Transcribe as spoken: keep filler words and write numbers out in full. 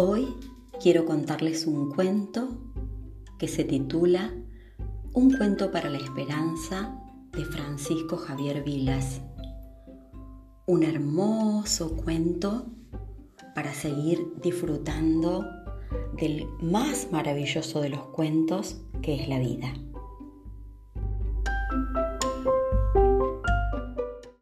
Hoy quiero contarles un cuento que se titula Un cuento para la esperanza de Francisco Javier Vilas. Un hermoso cuento para seguir disfrutando del más maravilloso de los cuentos, que es la vida.